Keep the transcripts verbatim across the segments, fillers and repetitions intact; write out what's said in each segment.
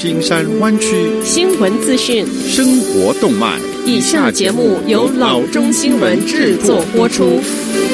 金山灣區新聞資訊、 生活動脈。 以下節目由老中新聞製作播出。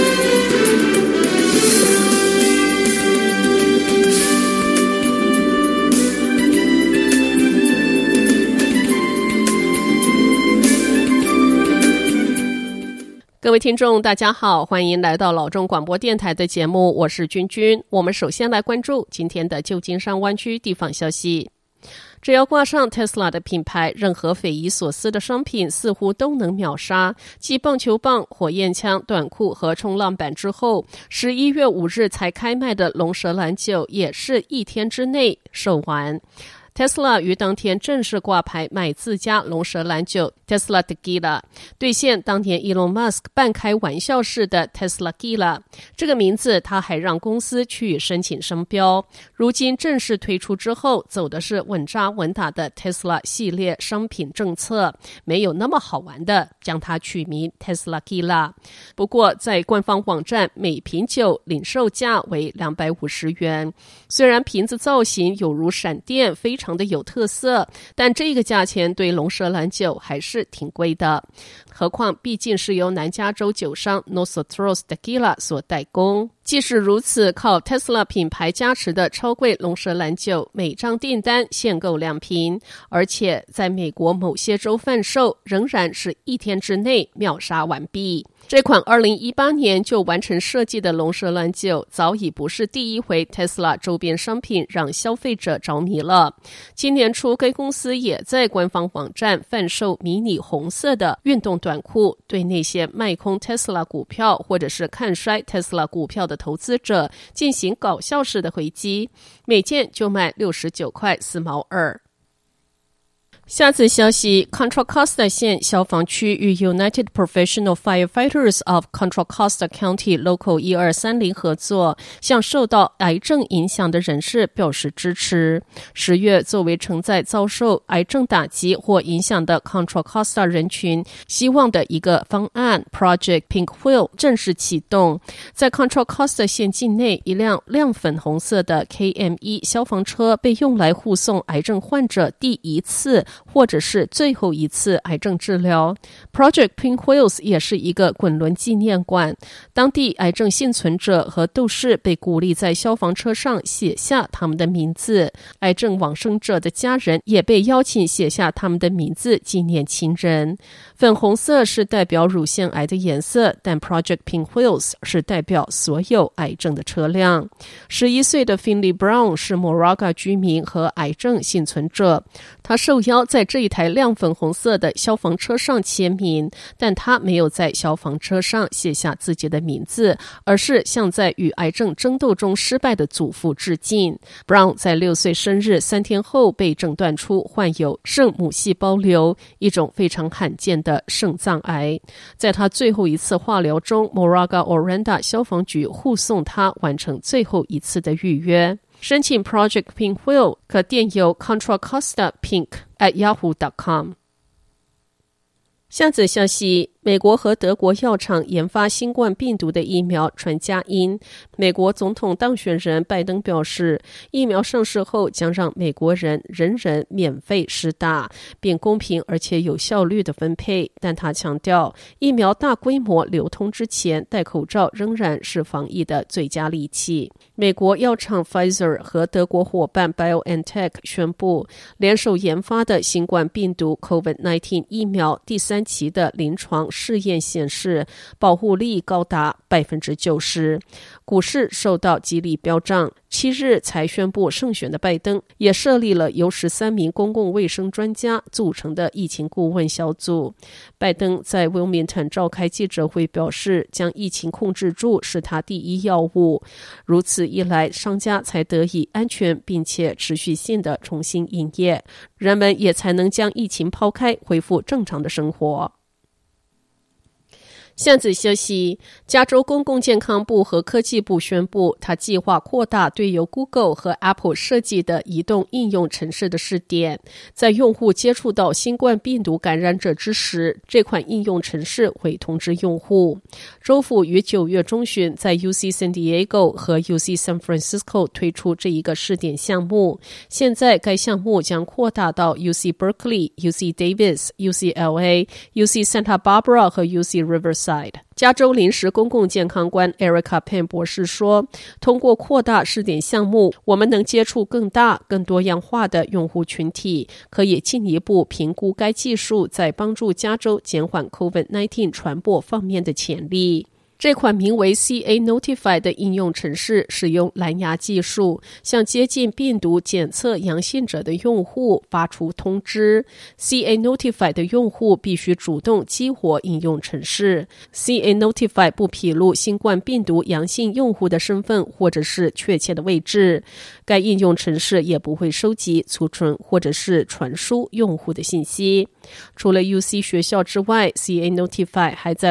各位聽眾大家好，歡迎來到老中廣播電臺的節目，我是君君。我們首先來關注今天的舊金山灣區地方消息。只要掛上 Tesla 的品牌，任何匪夷所思的商品似乎都能秒殺。繼棒球棒、火焰槍、短褲和衝浪板之後，十一月五日才開賣的龍舌蘭酒也是一天之內售完。Tesla 於當天正式掛牌賣自家龍舌蘭酒 Tesla Tequila， 兌現當年 Elon Musk 半開玩笑式的 Tesla Gila 這個名字，他還讓公司去申請商標。如今正式推出之後，走的是穩紮穩打的 Tesla 系列商品政策，沒有那麼好玩的將它取名 Tesla Gila。不過在官方網站，每瓶酒領售價為兩百五十元，雖然瓶子造型有如閃電，非常的有特色，但這個價錢對龍舌蘭酒還是挺貴的。何況畢竟是由南加州酒商 Nosotros Tequila 所代工。即使如此，靠 Tesla 品牌加持的超貴龍舌蘭酒，每張訂單限購兩瓶，而且在美國某些州販售，仍然是一天之內秒殺完畢。這款二零一八年就完成設計的龍舌蘭酒，早已不是第一回 Tesla 周邊商品讓消費者着迷了。今年初，該公司也在官方網站販售迷你紅色的運動短褲，對那些賣空 Tesla 股票或者是看衰 Tesla 股票的投資者進行搞笑式的回擊，每件就賣六十九塊四毛二。下次消息 Contra Costa 縣消防區與 United Professional Firefighters of Contra Costa County Local 一二三零合作，向受到癌症影響的人士表示支持。十月作為承載遭受癌症打擊或影響的 Contra Costa 人群希望的一個方案 Project Pink Wheel 正式啟動。在 Contra Costa 縣境內，一輛亮粉紅色的 K M 一 消防車被用來護送癌症患者第一次或者是最後一次癌症治療。 Project Pink Wheels 也是一個滾輪紀念館，當地癌症幸存者和鬥士被鼓勵在消防車上寫下他們的名字，癌症往生者的家人也被邀請寫下他們的名字紀念親人。粉紅色是代表乳腺癌的顏色，但 Project Pink Wheels 是代表所有癌症的車輛。十一歲的 Finley Brown 是 Moraga 居民和癌症幸存者，他受邀在這一台亮粉紅色的消防車上簽名，但他沒有在消防車上寫下自己的名字，而是向在與癌症爭鬥中失敗的祖父致敬。Brown 在六歲生日三天後被診斷出患有聖母細胞瘤，一種非常罕見的腎臟癌。在他最後一次化療中， Moraga Oranda 消防局護送他完成最後一次的預約。申請 Project Pink Wheel 可電郵 Contra Costa Pink at yahoo dot com。 下則消息，美國和德國藥廠研發新冠病毒的疫苗傳佳音。美國總統當選人拜登表示，疫苗上市後將讓美國人人人免費施打，並公平而且有效率的分配。但他強調，疫苗大規模流通之前，戴口罩仍然是防疫的最佳利器。美國藥廠 Pfizer 和德國夥伴 BioNTech 宣布，聯手研發的新冠病毒 COVID 十九 疫苗第三期的臨床試驗顯示，保護力高達百分之九十。股市受到激勵飆漲，七日才宣布勝選的拜登也設立了由十三名公共衛生專家組成的疫情顧問小組。拜登在 Wilmington 召開記者會表示，將疫情控制住是他第一要務。如此一來，商家才得以安全並且持續性的重新營業，人們也才能將疫情拋開，恢復正常的生活。 下則消息，加州公共健康部和科技部宣布，他計劃擴大對由 Google 和 Apple 設計的移動應用程式的試點。在用戶接觸到新冠病毒感染者之時，這款應用程式會通知用戶。州府於九月中旬在 U C San Diego 和 U C San Francisco 推出這一個試點項目。現在該項目將擴大到 U C Berkeley、U C Davis、U C L A、U C Santa Barbara 和 U C Riverside。加州臨時公共健康官 Erica Penn 博士說，通過擴大試點項目，我們能接觸更大、更多樣化的用戶群體，可以進一步評估該技術在幫助加州減緩 COVID 十九 傳播方面的潛力。這款名為 C A Notify 的應用程式使用藍牙技術，向接近病毒檢測陽性者的用戶發出通知。C A Notify 的用戶必須主動激活應用程式。C A Notify 不披露新冠病毒陽性用戶的身份或者是確切的位置。該應用程式也不會收集、儲存或者是傳輸用戶的信息。除了 U C 學校之外， C A Notify 還在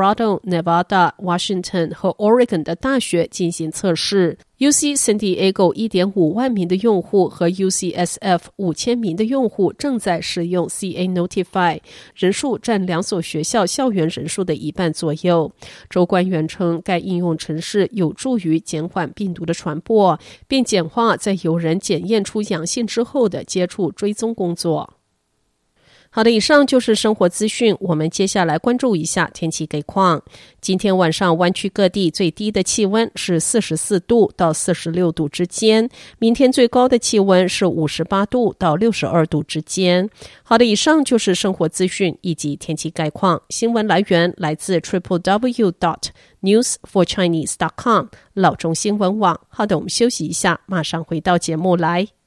Colorado、Nevada、Washington 和 Oregon 的大學進行測試。U C San Diego 一點五萬名的用戶和 U C S F 五千名的用戶正在使用 C A Notify， 人數佔兩所學校校園人數的一半左右。州官員稱，該應用程式有助於減緩病毒的傳播，並簡化在有人檢驗出陽性之後的接觸追蹤工作。好的，以上就是生活資訊，我們接下來關注一下天氣概況。今天晚上灣區各地最低的氣溫是四十四度到四十六度之間，明天最高的氣溫是五十八度到六十二度之間。好的，以上就是生活資訊以及天氣概況。新聞來源來自 triple w dot news for chinese dot com 老中新聞網。好的，我們休息一下，馬上回到節目來。